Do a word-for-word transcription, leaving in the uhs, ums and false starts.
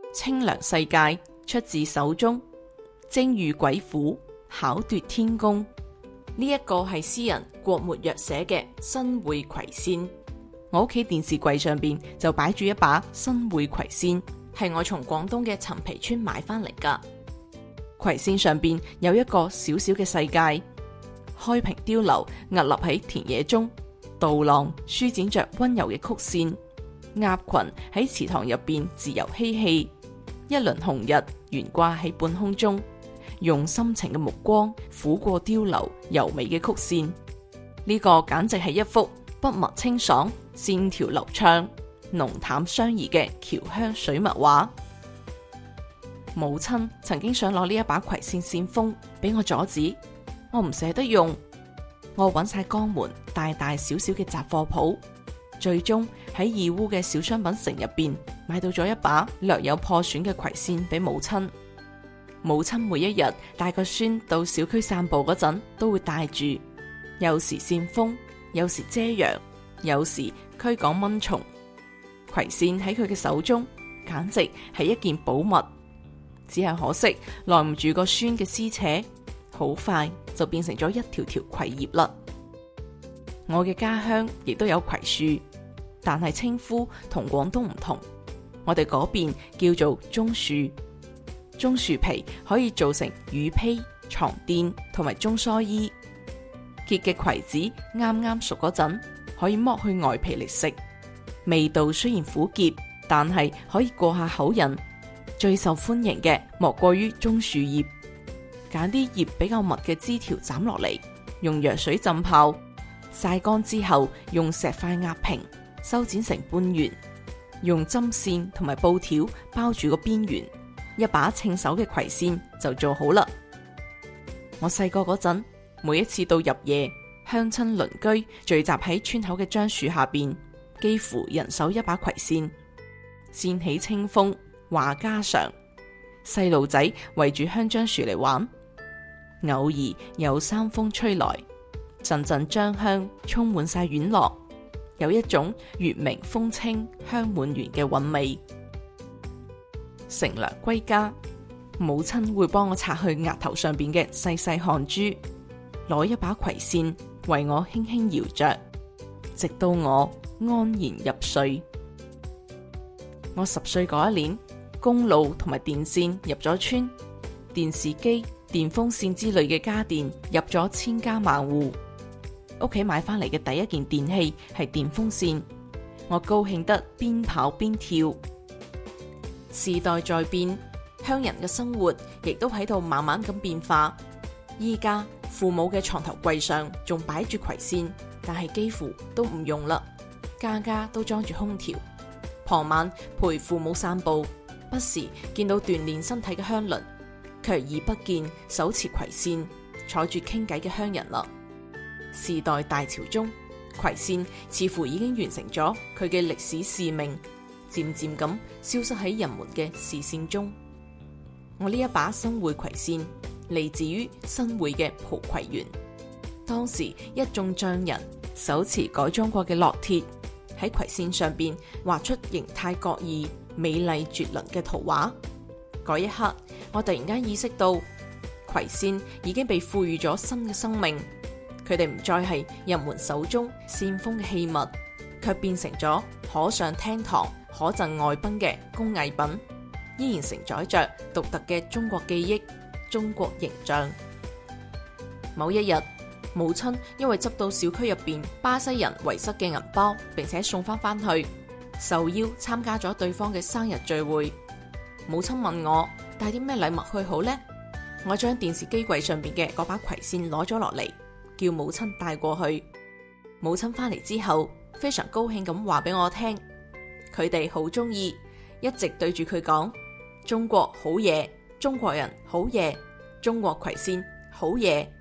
清涼世界出自手中，精御鬼斧，巧奪天工。呢一個係詩人郭沫若寫嘅新會葵扇。我屋企電視櫃上邊就擺住一把新會葵扇，係我從廣東嘅陳皮村買翻嚟噶。葵扇上邊有一個小小嘅世界，開屏碉樓屹立喺田野中，稻浪舒展着溫柔嘅曲線，鴨群喺池塘入邊自由嬉戲，一輪紅日懸掛喺半空中，用深情嘅目光撫過碉樓柔美嘅曲線。呢個簡直係一幅筆墨清爽、線條流暢、濃淡相宜嘅僑鄉水墨畫。母親曾經想攞呢一把葵扇扇風，俾我阻止，我唔捨得用。我揾晒江門大大小小嘅雜貨鋪，最終喺義烏嘅小商品城入邊買到咗一把略有破損嘅葵扇俾母親。母親每一日帶個孫到小區散步嗰陣，都會帶住，有時扇風，有時遮陽，有時驅趕蚊蟲。葵扇喺佢嘅手中，簡直係一件寶物。只係可惜耐唔住個孫嘅撕扯，好快就變成咗一條條葵葉啦。我嘅家鄉亦都有葵樹，但係稱呼同廣東唔同，我哋嗰邊叫做棕樹。棕樹皮可以做成雨披、床墊同埋中蓑衣。結嘅葵子啱啱熟嗰陣，可以剝去外皮嚟食，味道雖然苦澀，但係可以過下口癮。最受歡迎嘅莫過於棕樹葉，揀啲葉比較密嘅枝條斬落嚟，用藥水浸泡，曬乾之後用石塊壓平，修剪成半圓，用針線同埋布條包住個邊緣，一把稱手嘅葵扇就做好啦。我細個嗰陣，每一次到入夜，鄉親鄰居聚集喺村口嘅樟樹下邊，幾乎人手一把葵扇，扇起清風話家常，細路仔圍住香樟樹嚟玩，偶爾有山風吹來，陣陣樟香充滿晒院落，有一種月明風清香滿園嘅韻味。乘涼歸家，母親會幫我擦去額頭上邊嘅細細汗珠，攞一把葵扇為我輕輕搖着，直到我安然入睡。我十歲嗰一年，公路同埋電線入咗村，電視機、電風扇之類嘅家電入咗千家萬戶。屋企買翻嚟嘅第一件電器係電風扇，我高興得邊跑邊跳。時代在變，鄉人嘅生活亦都喺度慢慢咁變化。依家父母嘅床頭櫃上仲擺住葵扇，但係幾乎都唔用啦，家家都裝住空調。傍晚陪父母散步，不時見到鍛煉身體嘅鄉鄰，卻已不見手持葵扇坐住傾偈嘅鄉人啦。時代大潮中，葵扇似乎已經完成咗佢嘅歷史使命，漸漸咁消失喺人們嘅視線中。我呢一把新會葵扇嚟自於新會嘅蒲葵園，當時一眾匠人手持改裝過嘅烙鐵，喺葵扇上邊畫出形態各異、美麗絕倫嘅圖畫。嗰一刻，我突然間意識到，葵扇已經被賦予咗新嘅生命。佢哋唔再係人們手中扇風嘅器物，卻變成咗可上廳堂、可贈外賓嘅工藝品，依然承載着獨特嘅中國記憶、中國形象。某一日，母親因為執到小區入邊巴西人遺失嘅銀包，並且送翻翻去，受邀參加咗對方嘅生日聚會。母親問我帶啲咩禮物去好呢？我將電視機櫃上邊嘅嗰把葵扇攞咗落嚟，叫母親帶過去。母親翻嚟之後，非常高興咁話俾我聽，佢哋好中意，一直對住佢講：中國好嘢，中國人好嘢，中國葵扇好嘢。